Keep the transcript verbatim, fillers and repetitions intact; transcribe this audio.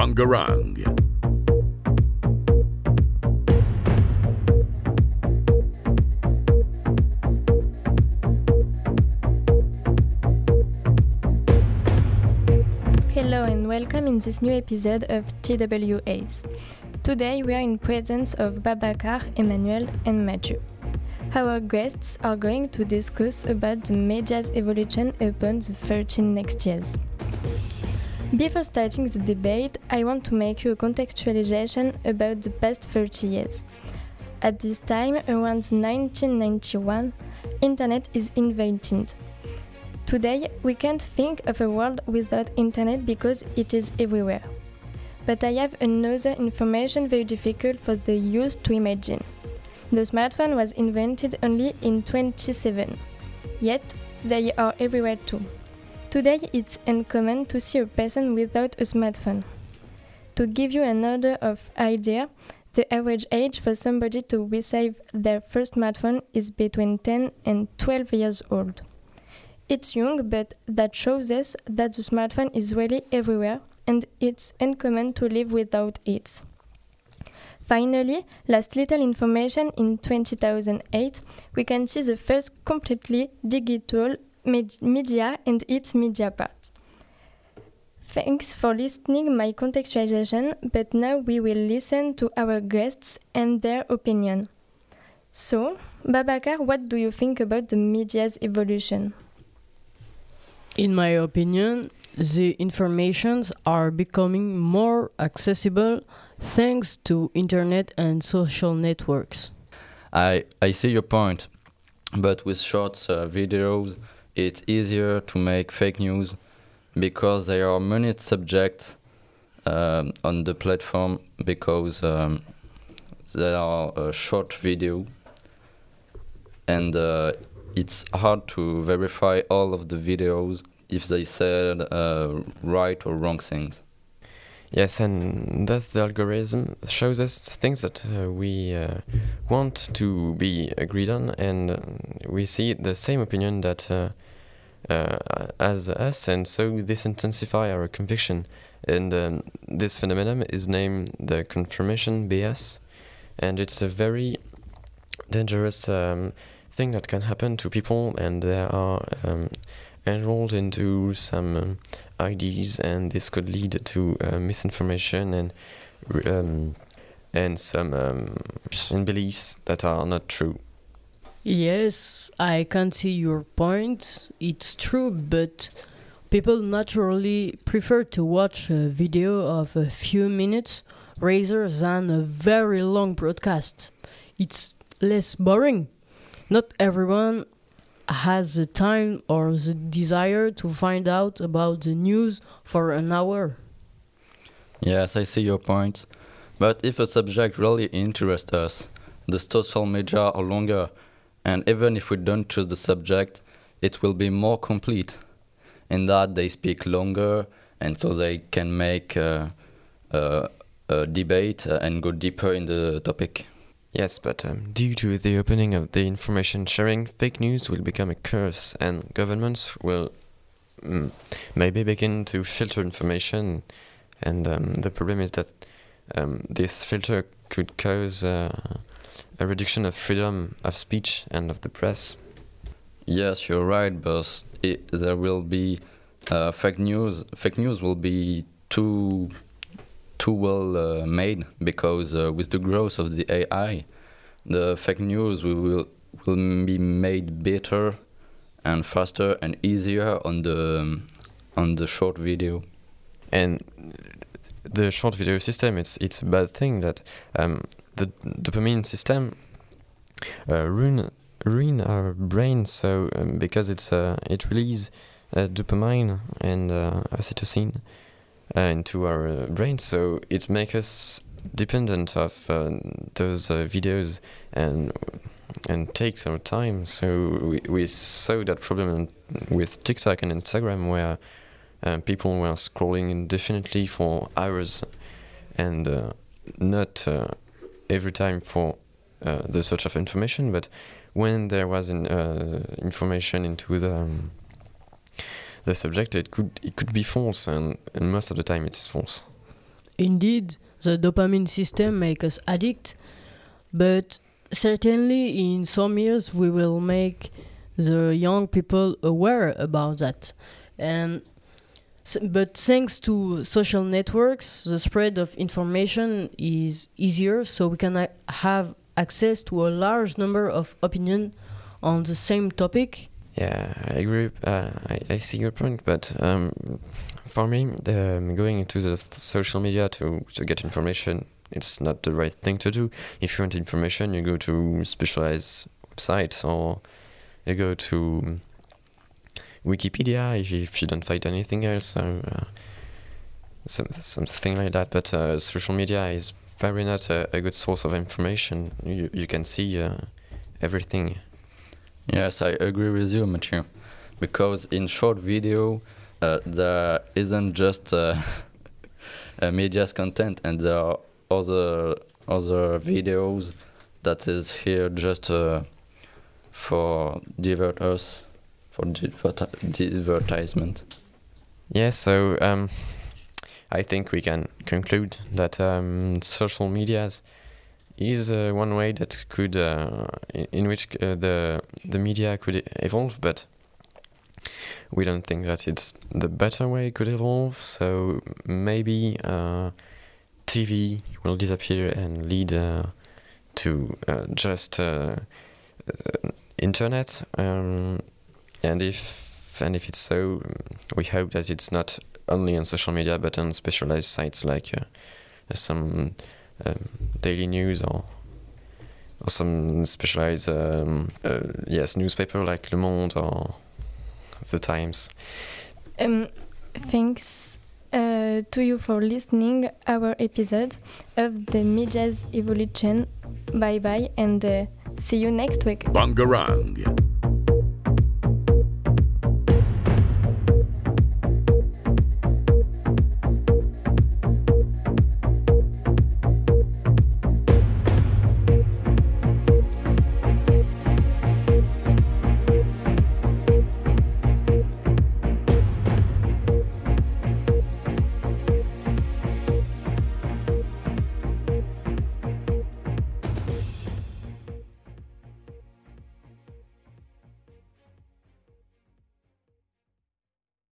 Bangarang. Hello and welcome in this new episode of T W As. Today we are in presence of Babacar, Emmanuel and Mathieu. Our guests are going to discuss about the media's evolution upon the thirteen next years. Before starting the debate, I want to make you a contextualization about the past thirty years. At this time, around nineteen ninety-one, Internet is invented. Today, we can't think of a world without Internet because it is everywhere. But I have another information very difficult for the youth to imagine. The smartphone was invented only in twenty-seven, yet they are everywhere too. Today, it's uncommon to see a person without a smartphone. To give you an order of idea, the average age for somebody to receive their first smartphone is between ten and twelve years old. It's young, but that shows us that the smartphone is really everywhere and it's uncommon to live without it. Finally, last little information, in two thousand eight, we can see the first completely digital med- media and its media part. Thanks for listening my contextualization, but now we will listen to our guests and their opinion. So, Babacar, what do you think about the media's evolution? In my opinion, the informations are becoming more accessible thanks to internet and social networks. I, I see your point, but with short uh, videos, it's easier to make fake news because there are many subjects um, on the platform because um, there are a short video and uh, it's hard to verify all of the videos if they said uh, right or wrong things. Yes, and thus the algorithm shows us things that uh, we uh, want to be agreed on, and uh, we see the same opinion that uh, uh, as us, and so this intensifies our conviction. And um, this phenomenon is named the confirmation bias, and it's a very dangerous um, thing that can happen to people, and there are um, enrolled into some um, ideas, and this could lead to uh, misinformation and um, and some um, beliefs that are not true. Yes, I can see your point. It's true, but people naturally prefer to watch a video of a few minutes rather than a very long broadcast. It's less boring. Not everyone has the time or the desire to find out about the news for an hour. Yes, I see your point. But if a subject really interests us, the social media are longer, and even if we don't choose the subject, it will be more complete in that they speak longer, and so they can make uh, uh, a debate uh, and go deeper in the topic. Yes, but um, due to the opening of the information sharing, fake news will become a curse, and governments will mm, maybe begin to filter information. And um, the problem is that um, this filter could cause uh, a reduction of freedom of speech and of the press. Yes, you're right, but it, there will be uh, fake news. Fake news will be too too well uh, made because uh, with the growth of the A I, the fake news will will, will be made better and faster and easier on the um, on the short video. And the short video system, it's it's a bad thing that um, the dopamine system uh, ruin ruin our brain. So um, because it's uh, it releases uh, dopamine and uh, oxytocin uh, into our uh, brain, so it makes us dependent of uh, those uh, videos and and takes our time. So we we saw that problem with TikTok and Instagram where Uh, people were scrolling indefinitely for hours and uh, not uh, every time for uh, the search of information, but when there was an, uh, information into the um, the subject, it could it could be false, and, and most of the time it is false. indeed, the dopamine system makes us addict, but certainly in some years we will make the young people aware about that. And s- but thanks to social networks, the spread of information is easier, so we can a- have access to a large number of opinions on the same topic. Yeah, I agree. Uh, I, I see your point, but um, for me, the, um, going into the th- social media to, to get information, it's not the right thing to do. If you want information, you go to specialized websites or you go to Wikipedia if, if you don't find anything else. So, uh, some, something like that. But uh, social media is very not a, a good source of information. You, you can see uh, everything. Yes, I agree with you, Mathieu. Because in short video, uh, there isn't just uh, uh, media's content, and there are other other videos that is here just uh, for divert us, for diverti- advertisement. Yeah, so um, I think we can conclude that um, social medias is uh, one way that could, uh, in, in which uh, the the media could evolve, but we don't think that it's the better way it could evolve. So maybe uh, T V will disappear and lead uh, to uh, just uh, uh, internet. Um, and if and if it's so, we hope that it's not only on social media but on specialized sites like uh, some. Um, daily news or or some specialized um, uh, yes newspaper like Le Monde or The Times. Um, thanks uh, to you for listening our episode of the Media's Evolution. Bye bye and uh, see you next week. Bangarang.